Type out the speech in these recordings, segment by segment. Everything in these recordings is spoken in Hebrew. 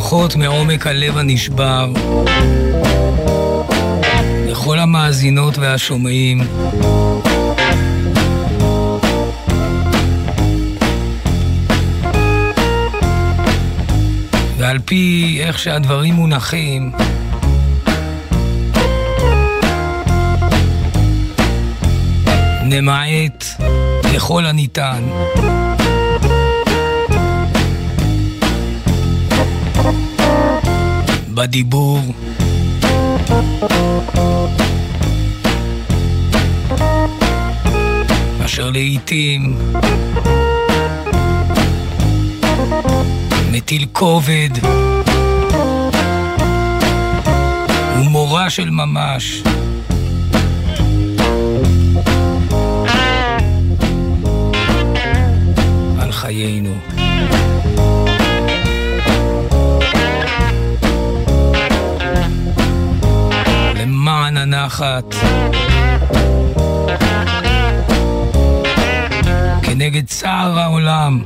ברכות מעומק הלב הנשבר לכל המאזינות והשומעים. ועל פי איך שהדברים מונחים, נמעט ככל הניתן בדיבור, אשר לעתים מטיל כובד ומורה של ממש על חיינו. למען הנחת כנגד צער העולם,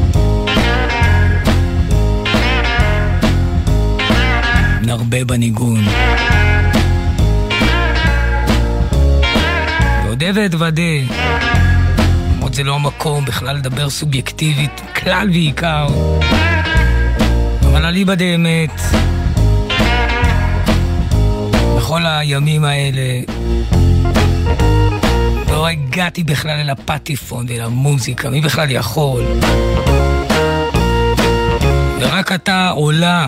נרבה בניגון. ועודה ואתוודה, למרות זה לא המקום בכלל לדבר סובייקטיבית, כלל ועיקר, אבל אליבא דאמת, בכל הימים האלה לא הגעתי בכלל אל הפטיפון ואל המוזיקה, מי בכלל יכול? ורק אתה עולה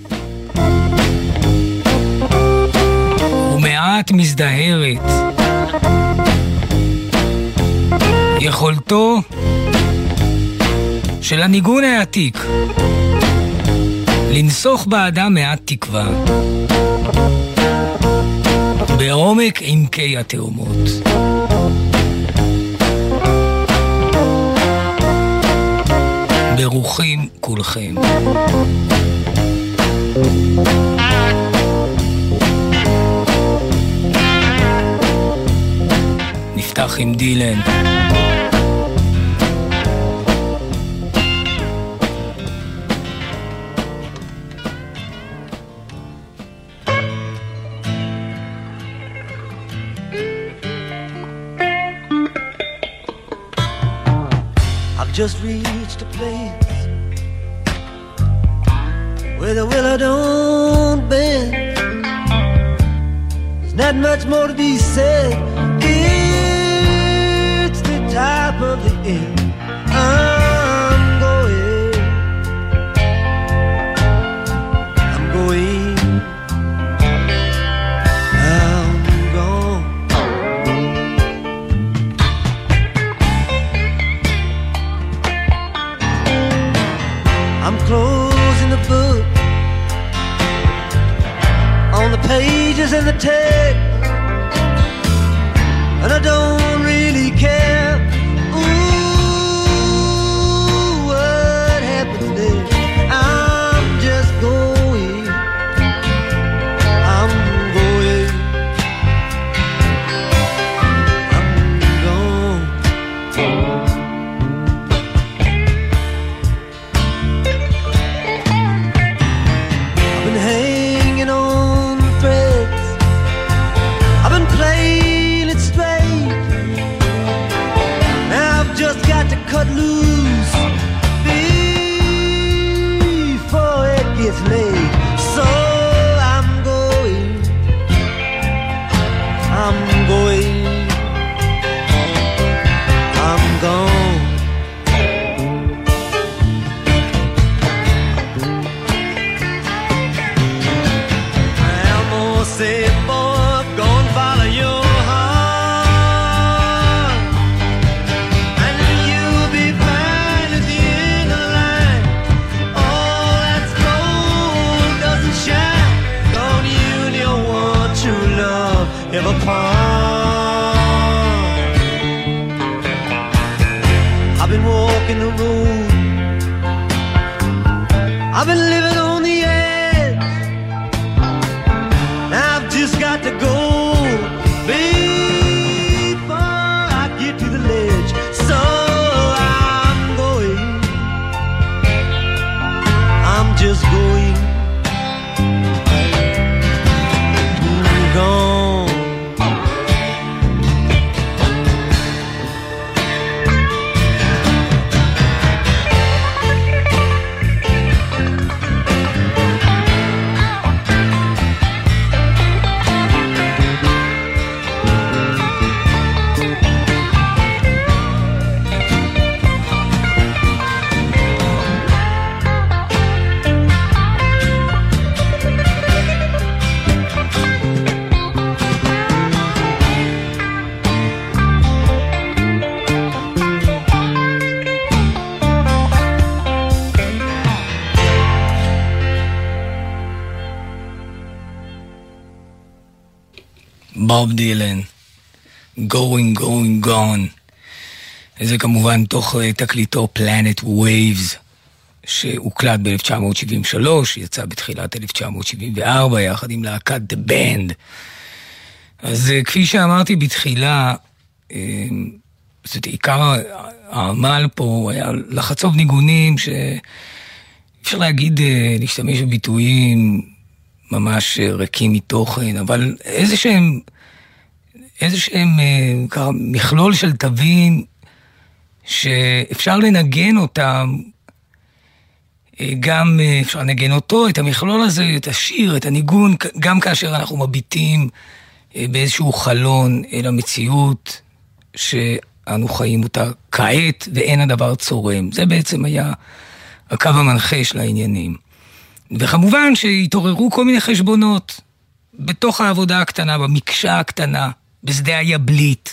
ומעט מזדהרת. יכולתו של הניגון העתיק לנסוך באדם מעט תקווה בעומק עמקי התאומות. ברוכים כולכם. נפתח עם דילן. Just reached a place where the willow don't bend. There's not much more to be said. It's the top of the end. I'm going. I'm going. I'm gone. I'm closing the book on the pages and the text, and I don't really care. Ooh, what happens next? I'm just going. I'm going. I'm gone. Hanging on threads, I've been playing it straight. Now I've just got to cut loose before it gets late. So I'm going. I'm going. I'm gone. Say, boy, go and follow your heart, and you'll be fine at the end of the line. All that's gold doesn't shine. Don't you and your one true love ever part? I've been walking the road, I've been living on the edge. I've just got to go before I get to the ledge. So I'm going. I'm just going. בוב דילן, Going Gone. זה כמובן תוך תקליטו Planet Waves, שהוקלט ב-1973, יצא בתחילת 1974, יחד עם להקת The Band. אז כפי שאמרתי בתחילה, זאת עיקר העמל פה היה לחצוב ניגונים שאפשר להגיד, להשתמש בביטויים ממש ריקים מתוכן, אבל איזה שהם מכלול של תווים שאפשר לנגן אותם, גם אפשר לנגן אותו, את המכלול הזה, את השיר, את הניגון, גם כאשר אנחנו מביטים באיזשהו חלון אל המציאות שאנו חיים אותה כעת, ואין הדבר צורם. זה בעצם היה הקו המנחה של העניינים. וכמובן שהתעוררו כל מיני חשבונות בתוך העבודה הקטנה, במקשה הקטנה, בשדה היבלית.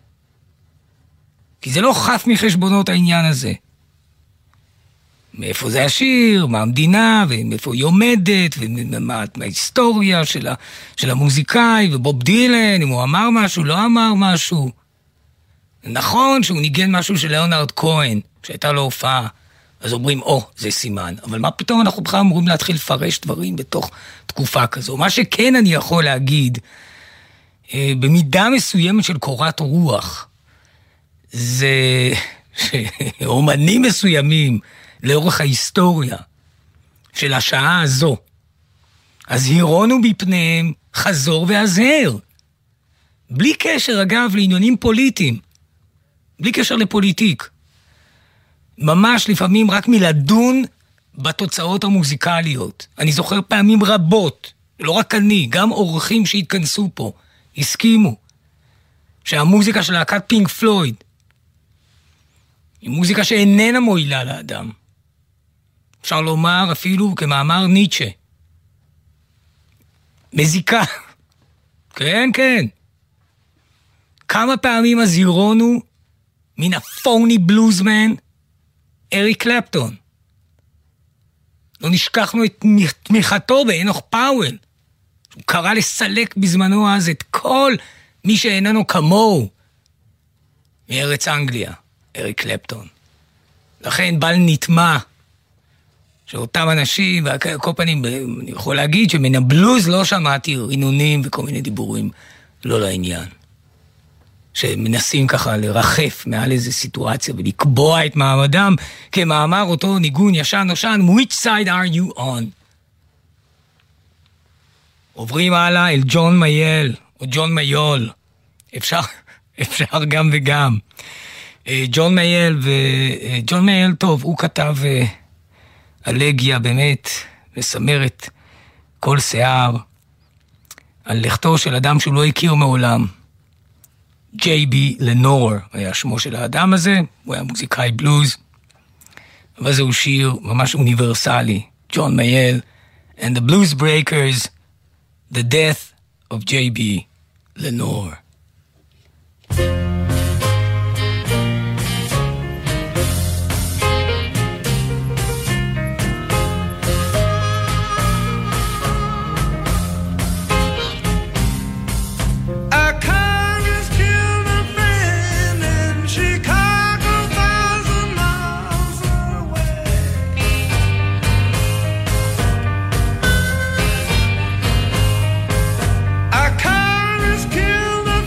כי זה לא חף מחשבונות העניין הזה. מאיפה זה השיר, מה המדינה, ומאיפה היא עומדת, ומה ההיסטוריה של המוזיקאי, ובוב דילן, אם הוא אמר משהו, לא אמר משהו. נכון שהוא ניגן משהו של ליאונרד כהן, שהייתה לו הופעה, אז אומרים, זה סימן. אבל מה פתאום אנחנו בכלל אמורים להתחיל לפרש דברים בתוך תקופה כזו? מה שכן אני יכול להגיד, במידה מסוימת של קורת רוח, זה שאומנים מסוימים לאורך ההיסטוריה של השעה הזו, הזהירונו מפניהם חזור והזהר. בלי קשר, אגב, לעניינים פוליטיים. בלי קשר לפוליטיק. ממש לפעמים רק מלדון בתוצאות המוזיקליות. אני זוכר פעמים רבות, לא רק אני, גם אורחים שהתכנסו פה, הסכימו שהמוזיקה של להקת פינק פלויד היא מוזיקה שאיננה מועילה לאדם. אפשר לומר אפילו כמאמר ניטשה. מזיקה. כן, כן. כמה פעמים הזהירונו מן הפוני בלוזמן אריק קלפטון. לא נשכחנו את תמיכתו באנוך פאוול. הוא קרא לסלק בזמנו אז את כל מי שאיננו כמוהו מארץ אנגליה, אריק קלפטון. לכן בל נטמע שאותם אנשים, וכל פנים, אני יכול להגיד שמן הבלוז לא שמעתי רינונים וכל מיני דיבורים לא לעניין. שמנסים ככה לרחף מעל איזו סיטואציה ולקבוע את מעמדם כמאמר אותו ניגון ישן נושן, which side are you on? עוברים הלאה אל ג'ון מייל, או ג'ון מיול. אפשר גם וגם. ג'ון מייל, טוב, הוא כתב אלגיה באמת, מסמרת כל שיער, על לכתו של אדם שהוא לא הכיר מעולם. ג'יי.בי לנור היה שמו של האדם הזה, הוא היה מוזיקאי בלוז, אבל זהו שיר ממש אוניברסלי, ג'ון מייל, and the Blues Breakers, The Death of J.B. Lenore. Killed a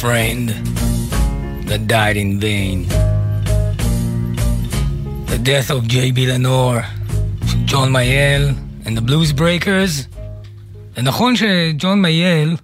friend that died in vain. The death of J.B. Lenore, John Mayall and the Blues Breakers. זה נכון שג'ון מייל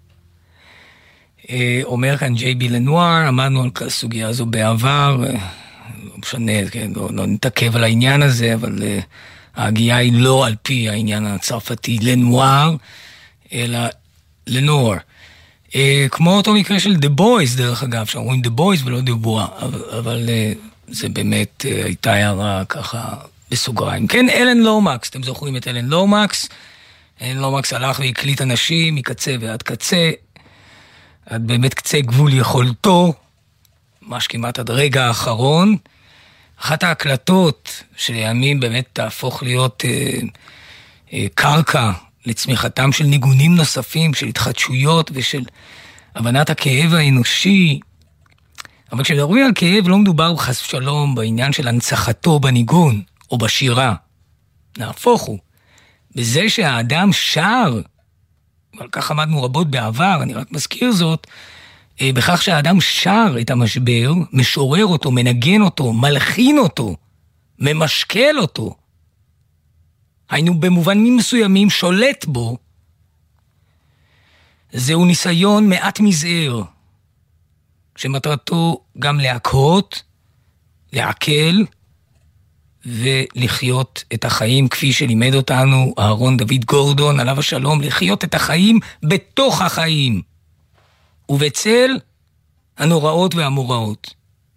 אומר כאן J.B. לנואר, עמדנו על הסוגיה הזו בעבר, לא משנה, כן, לא נתעכב על העניין הזה, אבל ההגיעה היא לא על פי העניין הצרפתי לנואר, אלא לנואר. כמו אותו מקרה של The Boys, דרך אגב, שאומרים The Boys ולא The Bois, אבל זה באמת הייתה הערה ככה בסוגריים. כן, אלן לומקס, אתם זוכרים את אלן לומקס? אלן לומקס הלך והקליט אנשים מקצה ועד קצה, עד באמת קצה גבול יכולתו, ממש כמעט עד רגע האחרון. אחת ההקלטות שלימים באמת תהפוך להיות קרקע לצמיחתם של ניגונים נוספים, של התחדשויות ושל הבנת הכאב האנושי. אבל כשמדברים על כאב לא מדובר חס ושלום בעניין של הנצחתו בניגון או בשירה. נהפוך הוא. בזה שהאדם שר, ועל כך עמדנו רבות בעבר, אני רק מזכיר זאת, בכך שהאדם שר את המשבר, משורר אותו, מנגן אותו, מלחין אותו, ממשקל אותו. היינו במובנים מסוימים שולט בו. זהו ניסיון מעט מזער, שמטרתו גם להקהות, לעכל ולחיות את החיים כפי שלימד אותנו אהרון דוד גורדון, עליו השלום, לחיות את החיים בתוך החיים ובצל הנוראות והמוראות.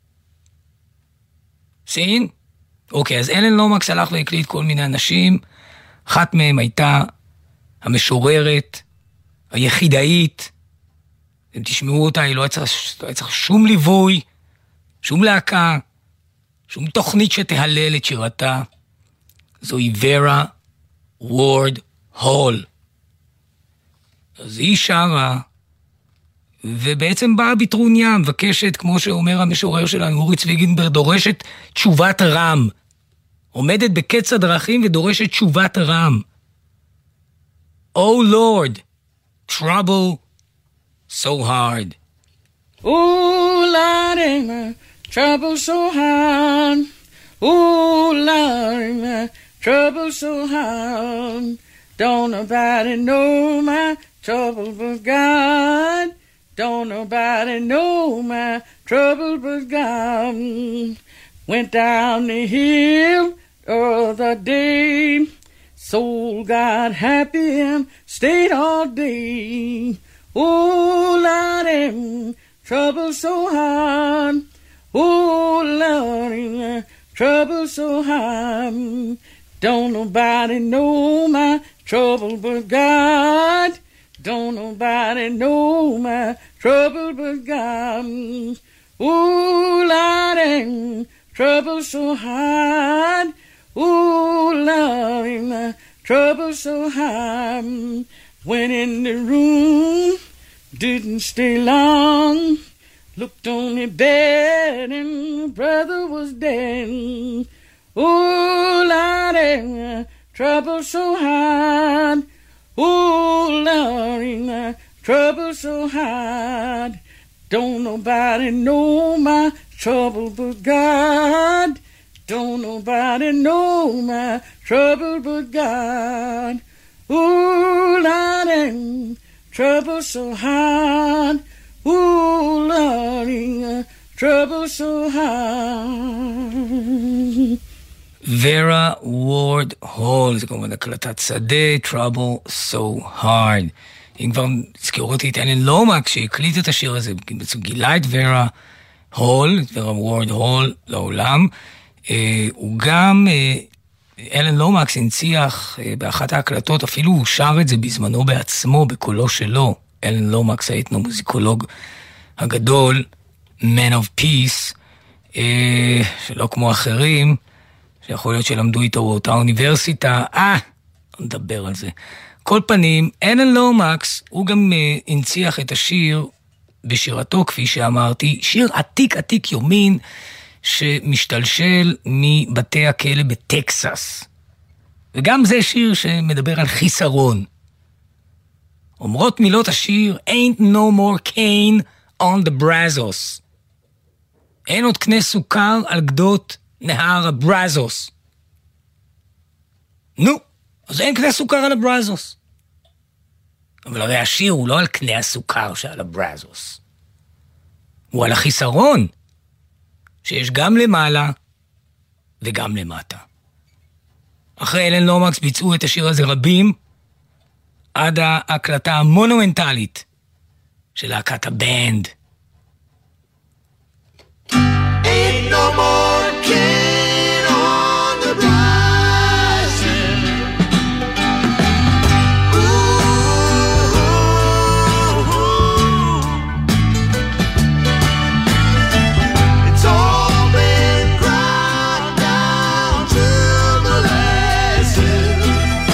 סין? אוקיי, אז אלן לומקס הלך והקליט כל מיני אנשים, אחת מהם הייתה המשוררת, היחידאית, אתם תשמעו אותה, היא לא צריך שום ליווי, שום להקה, שום תוכנית שתהלל את שירתה. זוהי ורה וורד הול. אז היא שרה, ובעצם באה בטרוניה, מבקשת, כמו שאומר המשורר שלנו, אורי צבי גינברג, דורשת תשובת רם. עומדת בקץ הדרכים ודורשת תשובת רם. Oh Lord, trouble so hard. Oh Lord, my trouble so hard. Oh Lord, my trouble so hard. Don't nobody know my trouble but God. Don't nobody know my trouble but God. Went down the hill the other day. Soul got happy and stayed all day. Oh, Lordy, trouble so hard. Oh, Lordy, trouble so hard. Don't nobody know my trouble but God. Don't nobody know my trouble but God. Oh, Lordy, trouble so hard. Oh, Lordy, my trouble so hard. Went in the room, didn't stay long. Looked on the bed and brother was dead. Oh, Lordy, my trouble so hard. Oh, Lordy, my trouble so hard. Don't nobody know my trouble but God. Don't nobody know my trouble but God. Ooh, Lordy, trouble so hard. Ooh, Lordy, trouble so hard. ורה וורד הול, זה כמובן הקלטת שדה, trouble so hard. אם כבר הזכירו אותי את אלן לומקס שהקליט את השיר הזה, בעצם גילה את ורה הול, את ורה וורד הול לעולם. הוא גם, אלן לומקס הנציח באחת ההקלטות, אפילו הוא שר את זה בזמנו בעצמו, בקולו שלו. אלן לומקס, האתנומוזיקולוג הגדול, Man of Peace, שלא כמו אחרים, שיכול להיות שלמדו איתו באותה אוניברסיטה, נדבר על זה. כל פנים, אלן לומקס, הוא גם הנציח את השיר בשירתו, כפי שאמרתי, שיר עתיק עתיק יומין, שמשתלשל מבתי הכלא בטקסס. וגם זה שיר שמדבר על חיסרון. אומרות מילות השיר, Ain't no more Cain on the Brazos. אין עוד קנה סוכר על גדות נהר הברזוס. נו, אז אין קנה סוכר על הברזוס. אבל הרי השיר הוא לא על קנה הסוכר שעל הברזוס. הוא על החיסרון, שיש גם למעלה וגם למטה. אחרי אלן לומקס ביצעו את השיר הזה רבים, עד ההקלטה המונומנטלית של להקת הבנד. Ain't no more king on the rising. Ooh, it's all been ground down to molasses.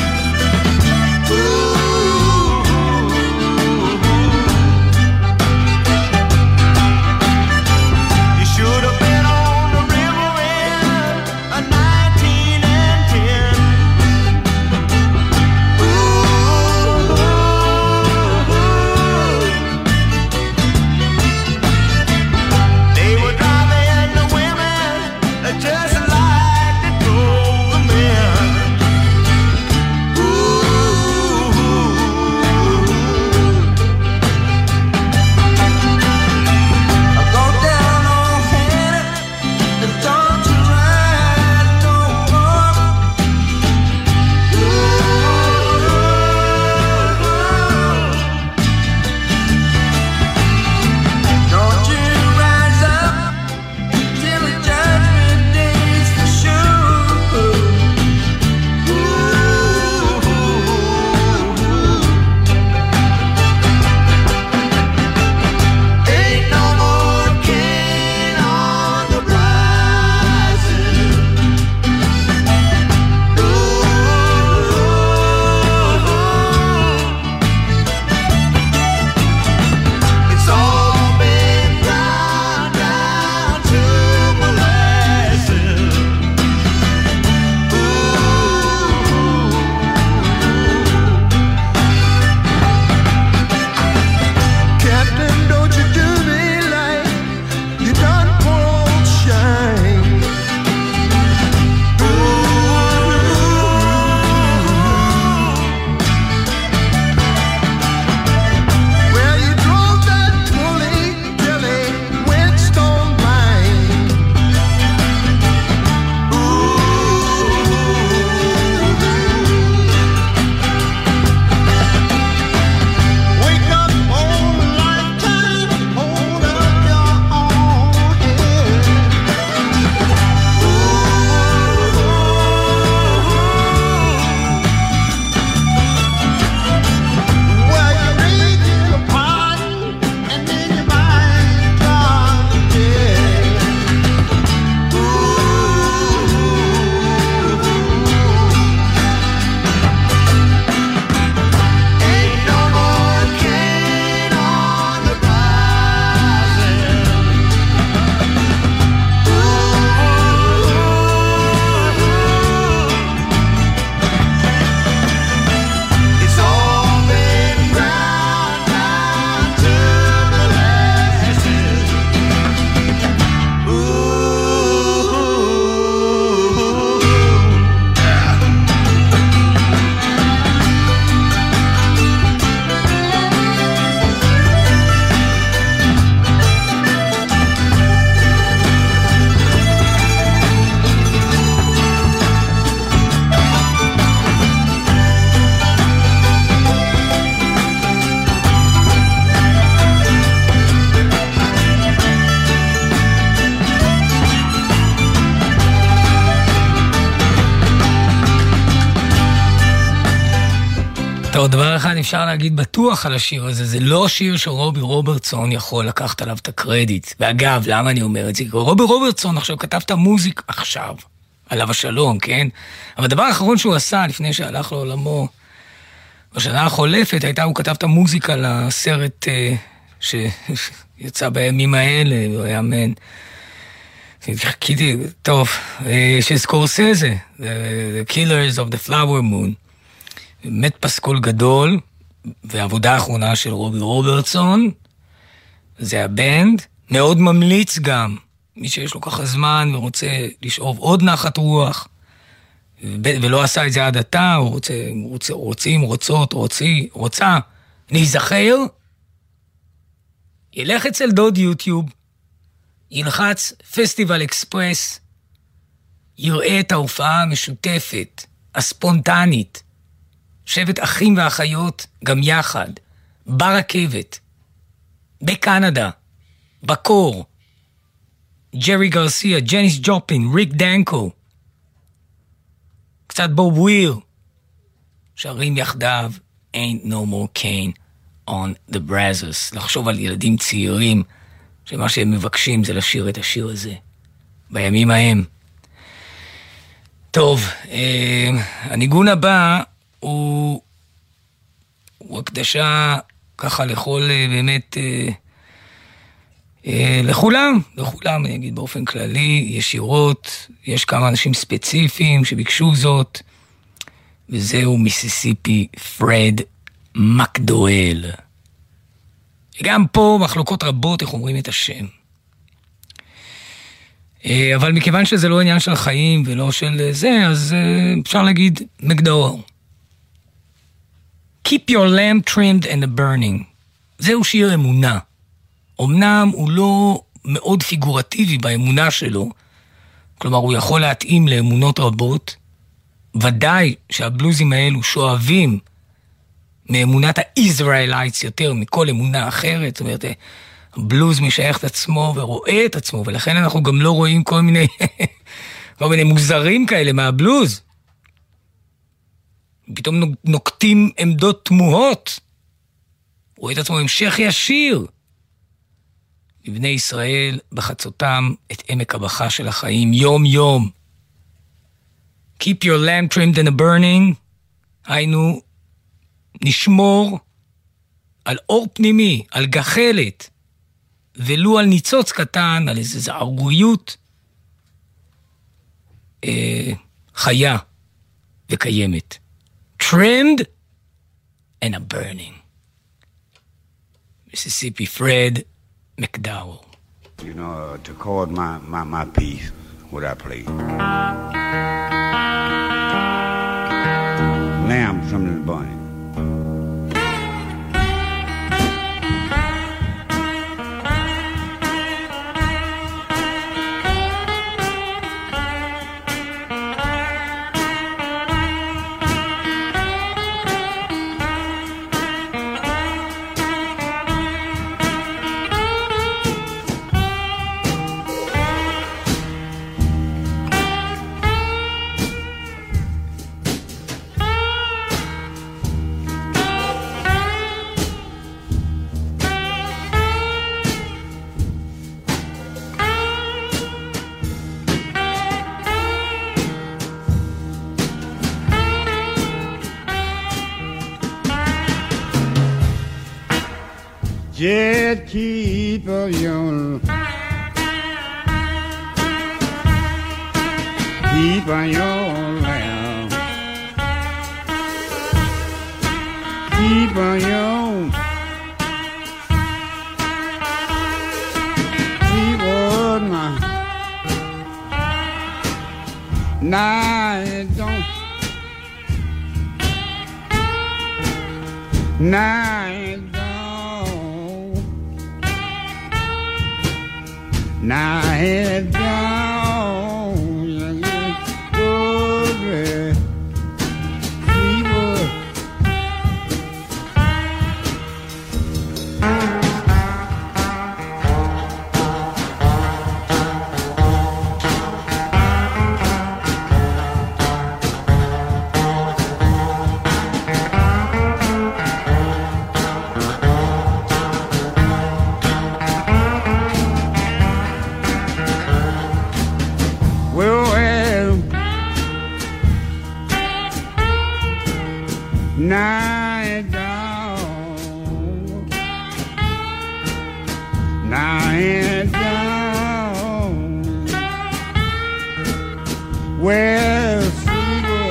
You should have been on the river in a 19 and 10. They were driving the women just like they drove the men. I go down on Hannah and don't you ride no more. Don't you rise up till the judgment day's for sure. Ain't no more king on the rising. It's all been ground down to molasses. Captain, don't you do me like you done poor old Shine. Well, you drove that Tully Billy Whetstone blind. Wake up on lifetime, hold up your own head. Well, you read the pardon, and then your mind gone dead. Ain't no more king on the rising. It's all been ground down to molasses. טוב, דבר אחד אפשר להגיד בטוח על השיר הזה, זה לא שיר שרובי רוברטסון יכול לקחת עליו את הקרדיט. ואגב, למה אני אומר את זה? כי רובי רוברטסון עכשיו כתב את המוזיק עכשיו, עליו השלום, כן? אבל הדבר האחרון שהוא עשה לפני שהלך לעולמו, בשנה החולפת הייתה, הוא כתב את המוזיקה לסרט שיצא בימים האלה, הוא היה מן. חיכיתי, טוב, של סקורסזה, The Killers of the Flower Moon. באמת פסקול גדול, והעבודה האחרונה של רובי רוברטסון, זה הבנד, מאוד ממליץ גם, מי שיש לו ככה זמן ורוצה לשאוב עוד נחת רוח, ולא עשה את זה עד עתה, הוא רוצה להיזכר, ילך אצל דוד יוטיוב, ילחץ פסטיבל אקספרס, יראה את ההופעה המשותפת, הספונטנית, שבט אחים ואחיות גם יחד, ברכבת, בקנדה, בקור, ג'רי גרסיה, ג'ניס ג'ופלין, ריק דנקו, קצת בוב וויר, שרים יחדיו, Ain't no more cane on the brazzers. לחשוב על ילדים צעירים, שמה שהם מבקשים זה לשיר את השיר הזה, בימים ההם. טוב, הניגון הבא הוא הקדשה ככה לכל באמת, לכולם, אני אגיד באופן כללי, ישירות, יש כמה אנשים ספציפיים שביקשו זאת, וזהו מיסיסיפי פרד מקדואל. גם פה מחלוקות רבות איך אומרים את השם. אבל מכיוון שזה לא עניין של חיים ולא של זה, אז אפשר להגיד מקדואל. Keep your lamp trimmed and burning. זהו שיר אמונה. אמנם הוא לא מאוד פיגורטיבי באמונה שלו, כלומר הוא יכול להתאים לאמונות רבות, ודאי שהבלוזים האלו שואבים מאמונת הישראלייטס יותר מכל אמונה אחרת, זאת אומרת, הבלוז משייך את עצמו ורואה את עצמו, ולכן אנחנו גם לא רואים כל מיני מוזרים כאלה מהבלוז. פתאום נוקטים עמדות תמוהות, רואה את עצמו המשך ישיר. לבני ישראל בחצותם את עמק הבכה של החיים יום יום. Keep your lamp trimmed and burning, היינו נשמור על אור פנימי, על גחלת, ולו על ניצוץ קטן, על איזו זערוריות חיה וקיימת. Trimmed and a burning. Mississippi Fred McDowell. You know, to chord my piece, what I play. Lamb from the burning. Just keep on your lamp. Keep on your keep on my night don't night now head down, good fever. Night down, night down, well, fever,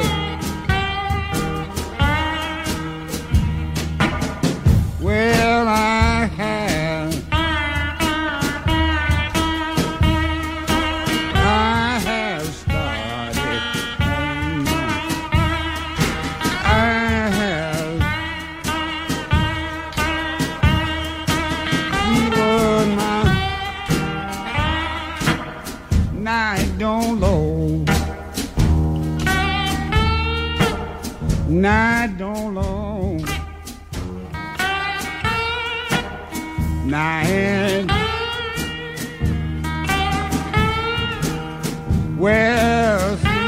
well, I have night don't low. Night don't low. Night. Well,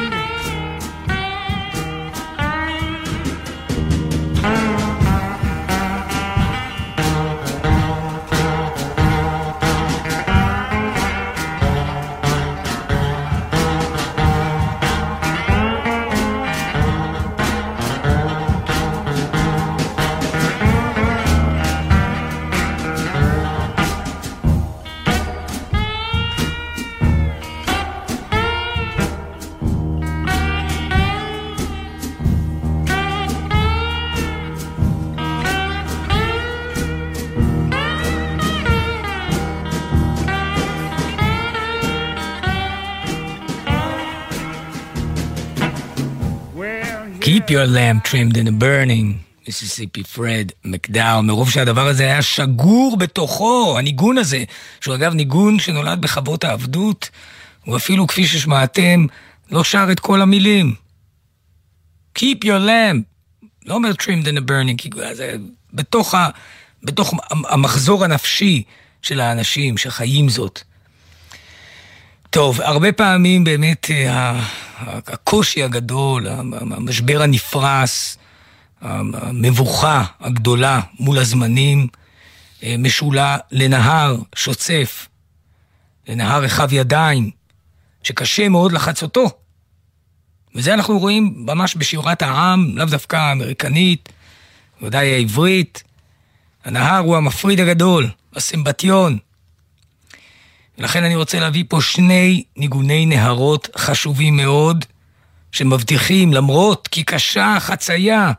Keep your lamp trimmed in a burning, מיסיסיפי פרד מקדאו, מרוב שהדבר הזה היה שגור בתוכו, הניגון הזה, שהוא אגב ניגון שנולד בחוות העבדות, הוא אפילו כפי ששמעתם, לא שר את כל המילים. Keep your lamp, לא אומר trimmed in a burning, כי זה בתוך המחזור הנפשי של האנשים שחיים זאת. טוב, הרבה פעמים באמת הקושי הגדול, המשבר הנפרס, המבוכה הגדולה מול הזמנים, משולה לנהר שוצף, לנהר רחב ידיים, שקשה מאוד לחצותו. וזה אנחנו רואים ממש בשירת העם, לאו דווקא האמריקנית, ודאי העברית. הנהר הוא המפריד הגדול, הסמבטיון. ולכן אני רוצה להביא פה שני ניגוני נהרות חשובים מאוד, שמבטיחים למרות כי קשה חצייה.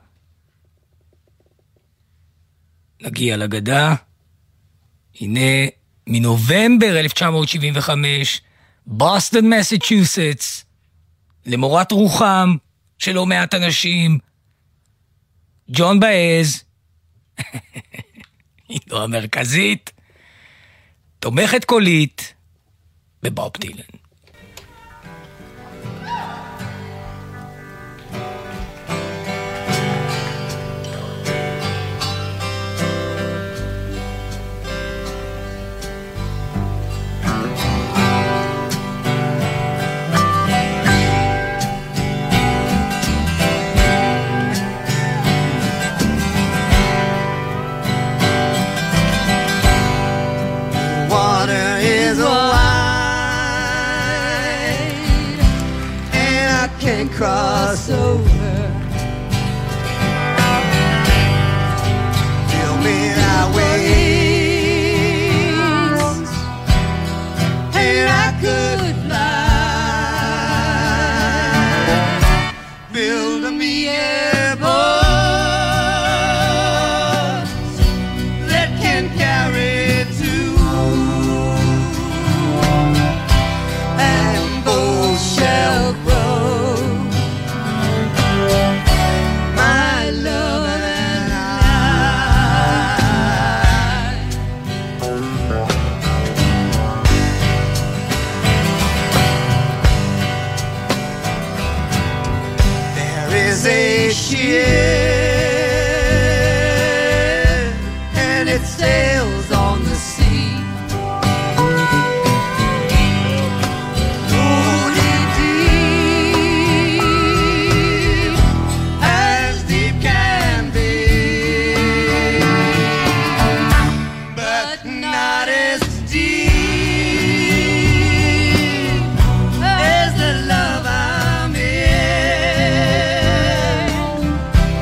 נגיע לגדה. הנה מנובמבר 1975, בוסטון, מסצ'וסטס, למורת רוחם של לא מעט אנשים, ג'ון באז, היא לא המרכזית, תומכת קולית בבוב דילן. Cross over. Fill me our wings, and I could fly. Build me airboats that can carry two, and both shall grow. And it sails on the sea, floating deep, as deep can be, but not as deep as the love I'm in.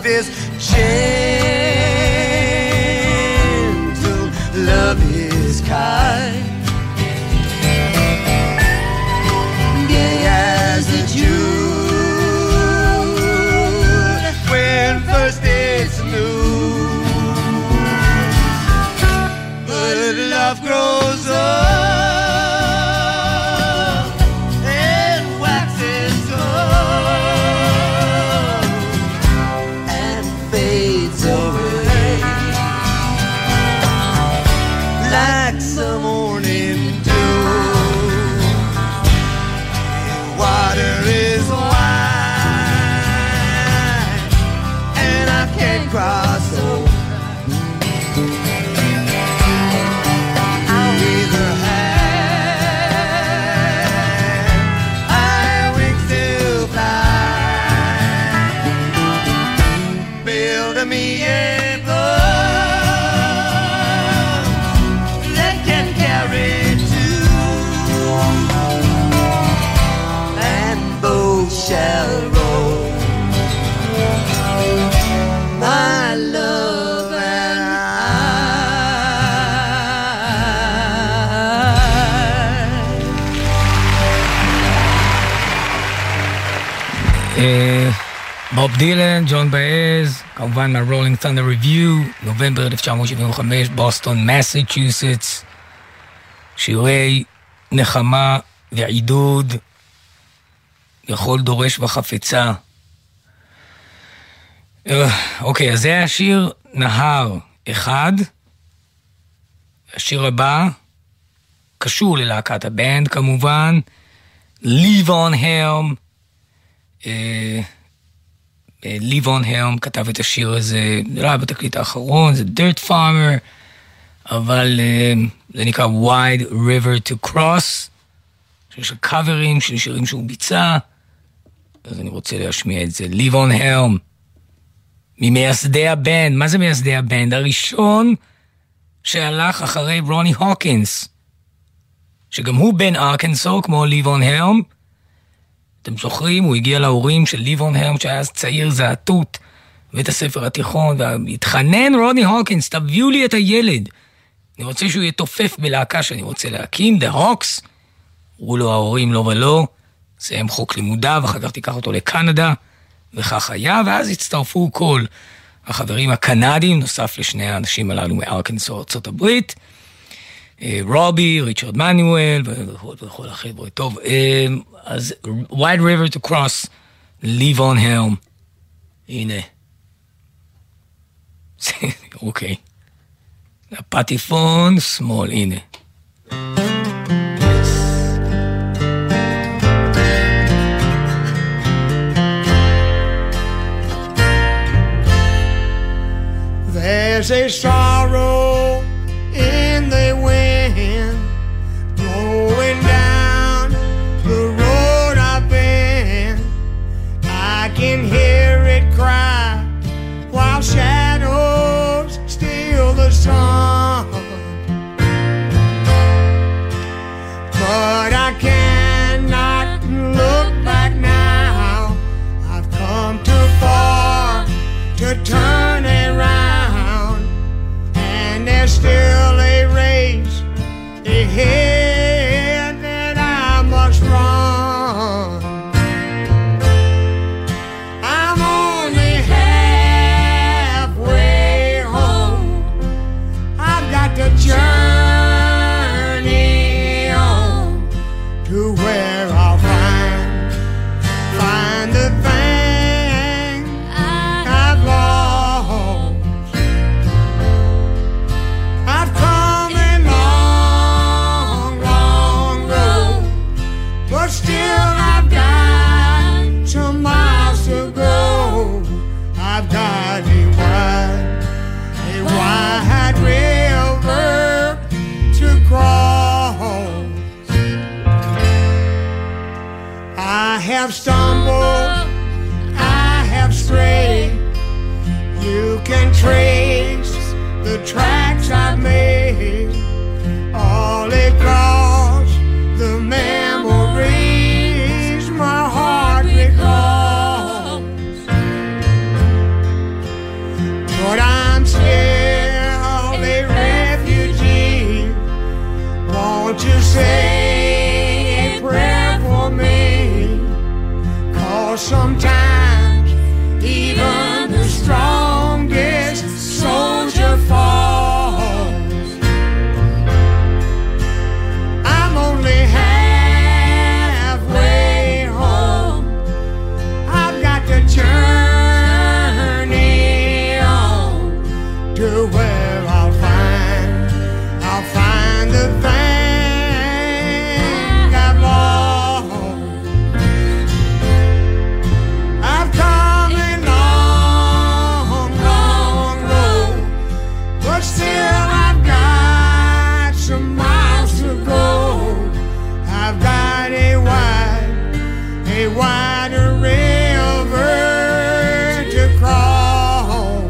is gentle, love is kind. Gay as the June when first it's new. But love grows up and waxes old and fades away like some morning dew. Water is wide and I can't cross over. I'll either have high wings to fly, build me a boat that can carry two, and both shall roll. My love and בוב דילן, ג'ון באז, כמובן מהרולינג ת'נדר ריוויו, נובמבר 1975, בוסטון, מסצ'וסטס, שירי נחמה ועידוד לכל דורש וחפצה. אוקיי, אז זה היה שיר נהר אחד. השיר הבא קשור ללהקת הבנד כמובן, ליבון הלם. ליבון הלם כתב את השיר הזה, לא היה בתקליט האחרון, זה Dirt Farmer, אבל זה נקרא Wide River to Cross, שיש קאברים של שירים שהוא ביצע, אז אני רוצה להשמיע את זה. ליבון הלם, ממייסדי הבנד. מה זה מייסדי הבנד? הראשון שהלך אחרי רוני הוקינס, שגם הוא בן ארקנסו כמו ליבון הלם. אתם זוכרים, הוא הגיע להורים של ליבון הלם שהיה אז צעיר זעתות בבית הספר התיכון, והתחנן רוני הוקינס, תביאו לי את הילד, אני רוצה שהוא יתופף בלהקה שאני רוצה להקים, The Hawks. אמרו לו ההורים לא ולא, סיים חוק לימודיו, אחר כך תיקח אותו לקנדה, וכך היה, ואז הצטרפו כל החברים הקנדים, נוסף לשני האנשים הללו מארקנסו ארצות הברית, רובי, ריצ'רד מנואל וכל החבר'ה. טוב, אז Wide River to Cross, ליבון הלם. הנה. אוקיי. הפטיפון שמאל, הנה. There's a sorrow in the wind blowing down the road I've been. I can hear it cry while shadows steal the sun. But I cannot look back now. I've come too far to turn around, and there's still a race ahead that I must run. I'm only halfway home. I've got to journey on to where I'll find the thing I've lost. I've come a long, long road, but still I've got some miles to go. I've got a wide river to cross. I have stumbled, I have strayed. You can trace the tracks I've made all across the memories my heart recalls. times even the strongest soldier falls. I'm only halfway home. I've got to journey on to where I'll find the thing I've lost. I've come a long, long road, but still I've got some miles to go. I've got a wider river to cross.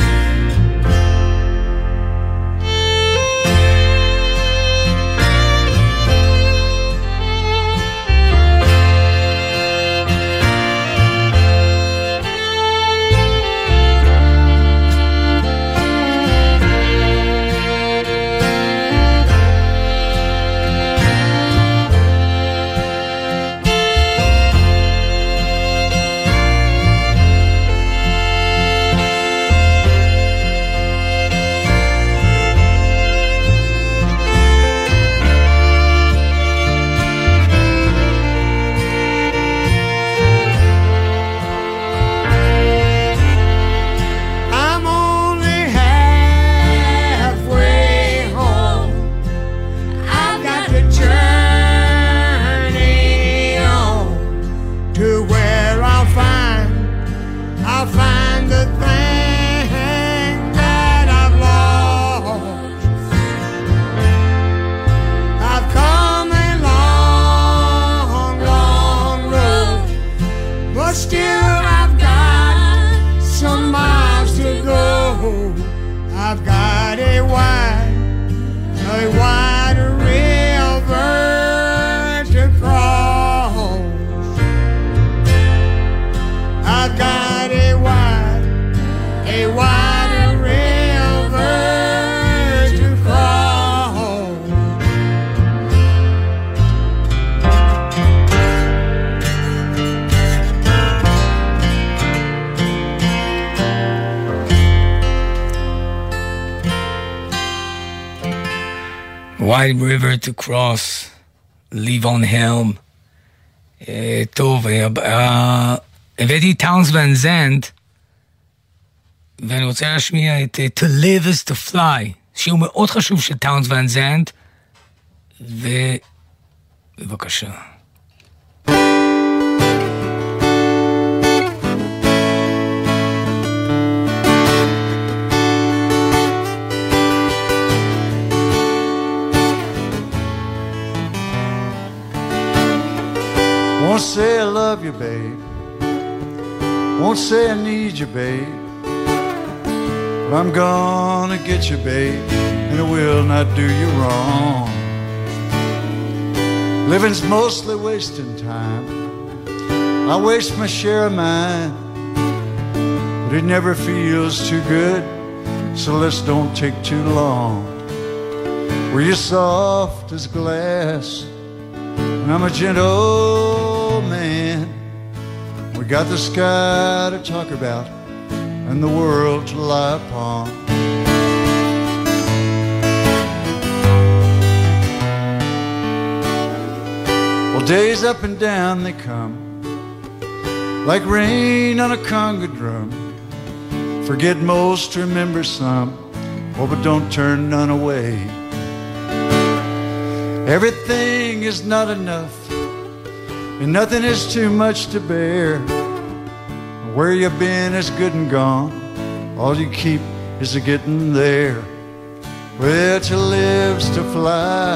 I'm only halfway home. I've got to journey on to where I'll find the thing that I've lost. I've come a long, long road, but still I've got some miles to go. I've got a wide river to cross. I've got a wide river to cross. Wide River to Cross, ליבון הלם. טוב, הבאתי טאונס ון זנד, ואני רוצה להשמיע את To Live is to Fly, שיר מאוד חשוב של טאונס ון זנד, ובבקשה. Won't say I love you, babe. Won't say I need you, babe. But I'm gonna get you, babe, and I will not do you wrong. Living's mostly wasting time. I waste my share of mine, but it never feels too good, so let's don't take too long. Were you soft as glass, and I'm a gentle man. We got the sky to talk about and the world to lie upon. Well, days up and down they come, like rain on a conga drum. Forget most, remember some, oh, but don't turn none away. Everything is not enough, and nothing is too much to bear. Where you've been is good and gone, all you keep is a getting there. Well, to live's to fly,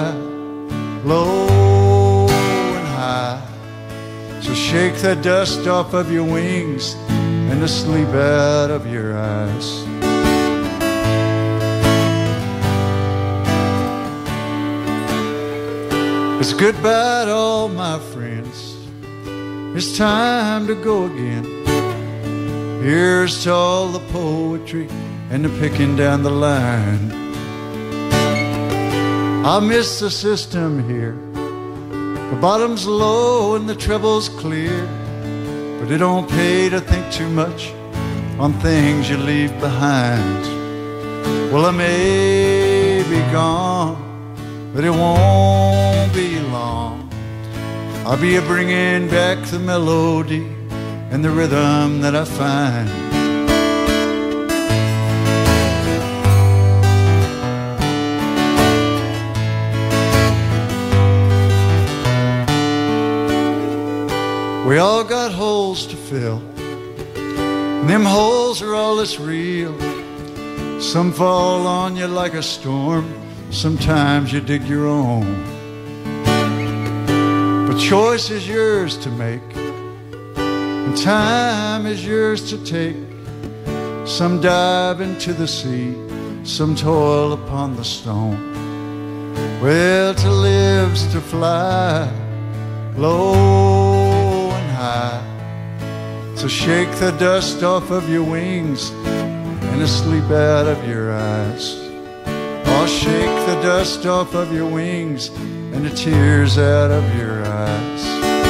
low and high. So shake the dust off of your wings and the sleep out of your eyes. It's goodbye to all my friends. It's time to go again. Here's to all the poetry and the picking down the line. I miss the system here. The bottom's low and the treble's clear. but it don't pay to think too much on things you leave behind. Well, I may be gone, but it won't be long. I'll be bringing back the melody and the rhythm that I find. We all got holes to fill, and them holes are all that's real. Some fall on you like a storm, sometimes you dig your own. But choice is yours to make, and time is yours to take. Some dive into the sea, some toil upon the stone. Well, to live's to fly low and high. So shake the dust off of your wings and the sleep out of your eyes. Oh, shake the dust off of your wings and the tears out of your eyes.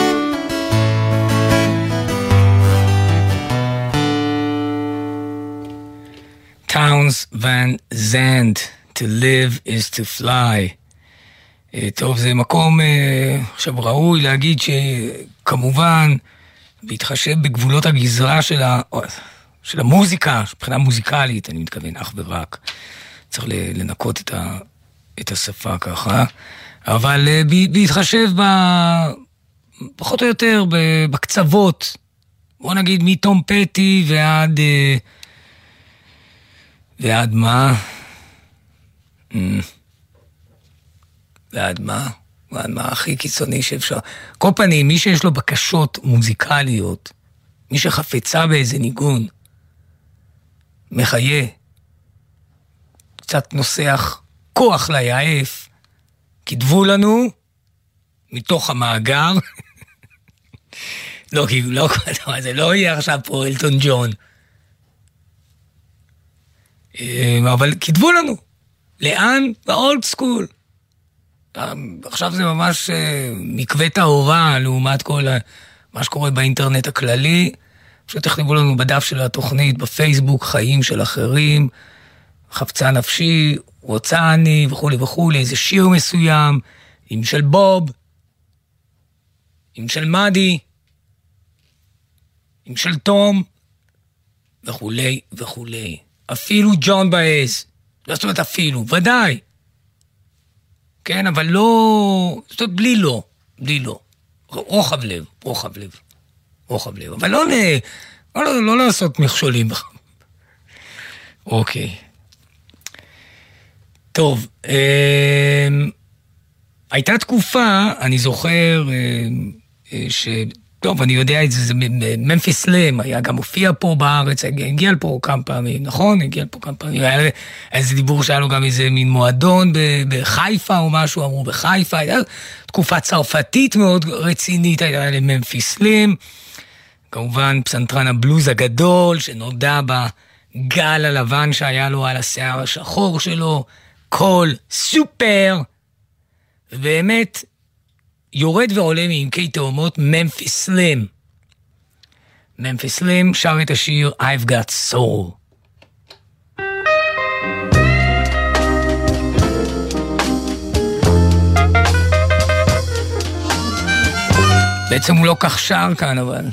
Townes Van Zandt, To live is to fly. טוב, זה מקום עכשיו ראוי להגיד שכמובן בהתחשב בגבולות הגזרה של המוזיקה, מבחינה מוזיקלית, אני מתכוון אך ורק, צריך לנקות את השפה ככה, אבל בהתחשב פחות או יותר בקצוות, בוא נגיד מתום פטי ועד מה? ועד מה הכי קיצוני שאפשר. כל פנים, מי שיש לו בקשות מוזיקליות, מי שחפצה באיזה ניגון, מחיה, קצת נוסח כוח ליעף, כתבו לנו מתוך המאגר, לא, זה לא יהיה עכשיו פה אלטון ג'ון, אבל כתבו לנו, לאן? באולד סקול. עכשיו זה ממש מקווה טהורה לעומת כל מה שקורה באינטרנט הכללי. פשוט תכתבו לנו בדף של התוכנית בפייסבוק, חיים של אחרים, חפצה נפשי, רוצה אני וכו' וכו', איזה שיר מסוים, עם של בוב, עם של מדי, עם של תום וכו' וכו'. אפילו ג'ון באז, זאת אומרת אפילו, ודאי. כן, אבל לא, זאת אומרת, בלי לא. רוחב לב. אבל לא לעשות מכשולים. אוקיי. טוב, הייתה תקופה, אני זוכר, טוב, אני יודע את זה, זה ממפיס סלאם, היה גם הופיע פה בארץ, הגיע לפה כמה פעמים, נכון? הגיע לפה כמה פעמים, היה איזה דיבור שהיה לו גם איזה מין מועדון בחיפה או משהו, אמרו בחיפה, הייתה תקופה צרפתית מאוד רצינית, הייתה לממפיס סלאם, כמובן פסנתרן הבלוז הגדול, שנודע בגל הלבן שהיה לו על השיער השחור שלו, קול סופר, ובאמת, יורד ועולה מעמקי תאומות ממפיס סלאם. ממפיס סלאם שר את השיר I've Got Soul. בעצם הוא לא כך שר כאן, אבל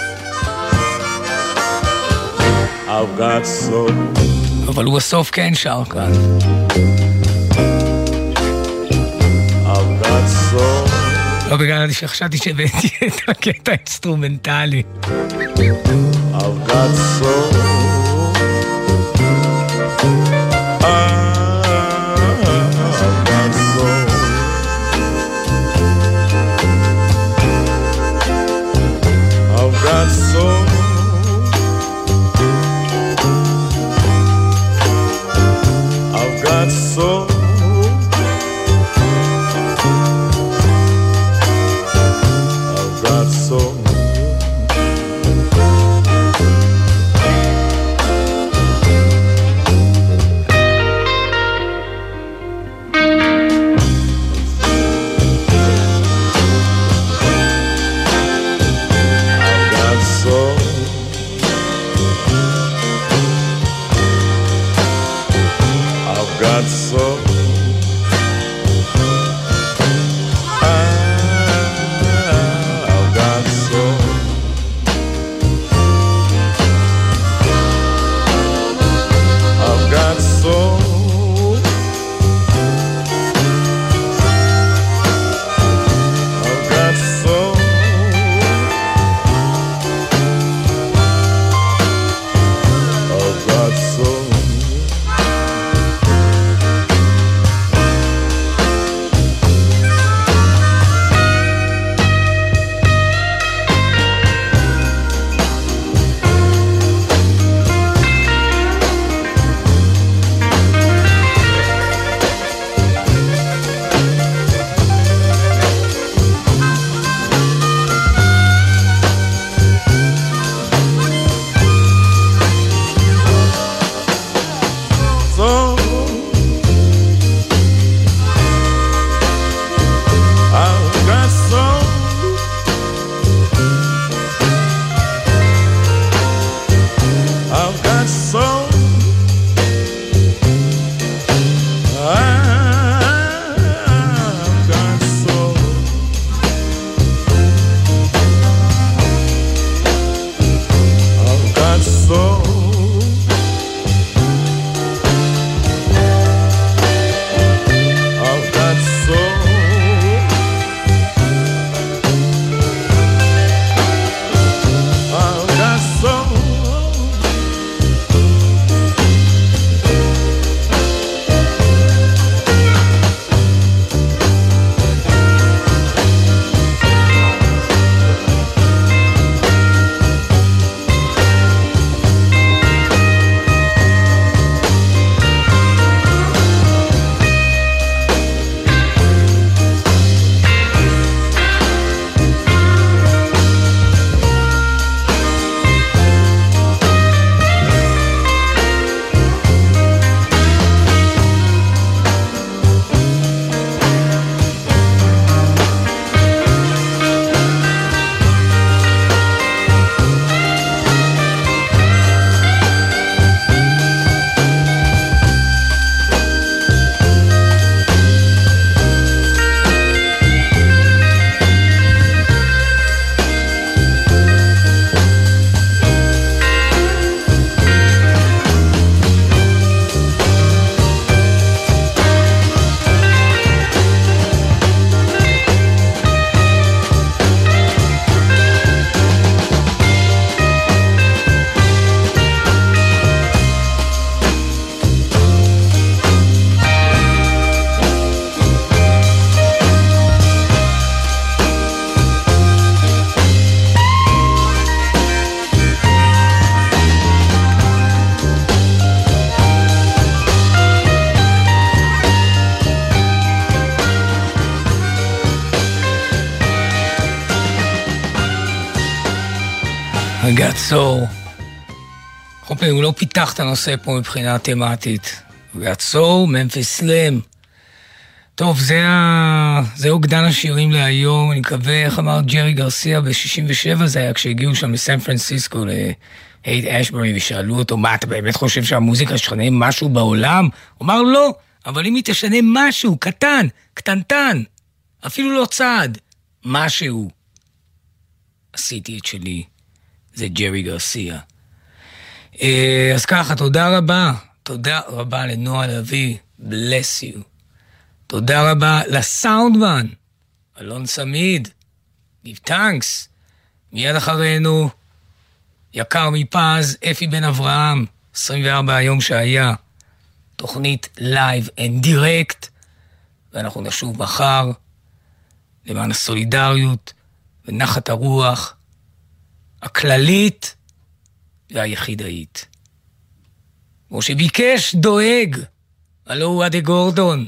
I've got soul. אבל הוא בסוף כן שר כאן. I've got soul. לא בגלל שחשבתי שהבאתי את הקטע האינסטרומנטלי. I've got soul. I've got soul. I've got soul. I've got soul. געצור. חופי, הוא לא פיתח את הנושא פה מבחינה תמטית. געצור, ממפיס סלאם. טוב, זה אוגדן השירים להיום. אני מקווה, איך אמר ג'רי גרסיה ב-67, זה היה כשהגיעו שם מסן פרנסיסקו להייט אשברי, ושאלו אותו, מה, אתה באמת חושב שהמוזיקה שתשנה משהו בעולם? הוא אמר, לא, אבל אם היא תשנה משהו, קטן, קטנטן, אפילו לא צעד, משהו. עשיתי את שלי, זה ג'רי גרסיה. אז ככה, תודה רבה לנועה לוי, bless you. תודה רבה לסאונדמן, אלון סמיד, give thanks. מיד אחרינו, יקר מפז, אפי בן אברהם, 24 היום שהיה, תוכנית לייב and direct, ואנחנו נשוב מחר, למען הסולידריות ונחת הרוח, הכללית והיחידאית. כמו שביקש דואג, הלא הוא אדי גורדון,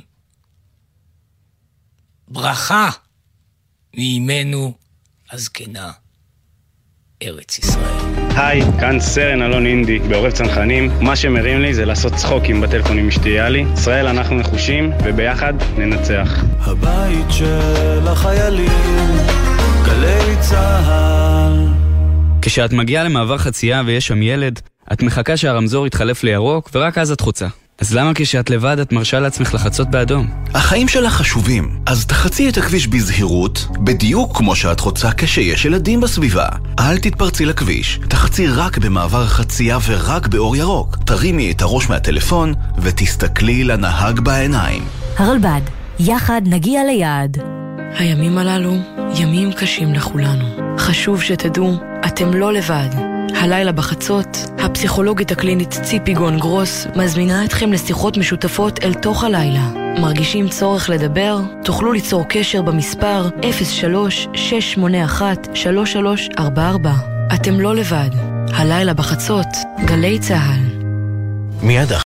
ברכה מאימנו הזקנה, ארץ ישראל. היי, כאן סרן אלון אינדי, בעורב צנחנים. מה שמרים לי זה לעשות צחוקים בטלפון עם אשתי יאלי. ישראל, אנחנו נחושים, וביחד ננצח. הבית של החיילים, גלי צהל. כשאת מגיעה למעבר חצייה ויש שם ילד, את מחכה שהרמזור יתחלף לירוק, ורק אז את חוצה. אז למה כשאת לבד את מרשה לעצמך לחצות באדום? החיים שלך חשובים, אז תחצי את הכביש בזהירות, בדיוק כמו שאת חוצה כשיש ילדים בסביבה. אל תתפרצי לכביש, תחצי רק במעבר חצייה ורק באור ירוק. תרימי את הראש מהטלפון ותסתכלי לנהג בעיניים. הרלב"ד, יחד נגיע ליעד. הימים הללו ימים קשים לכולנו. חשוב שתדעו, אתם לא לבד. הלילה בחצות, הפסיכולוגית הקלינית ציפי גון גרוס מזמינה אתכם לשיחות משותפות אל תוך הלילה. מרגישים צורך לדבר? תוכלו ליצור קשר במספר 03-681-3344. אתם לא לבד. הלילה בחצות, גלי צהל. מיד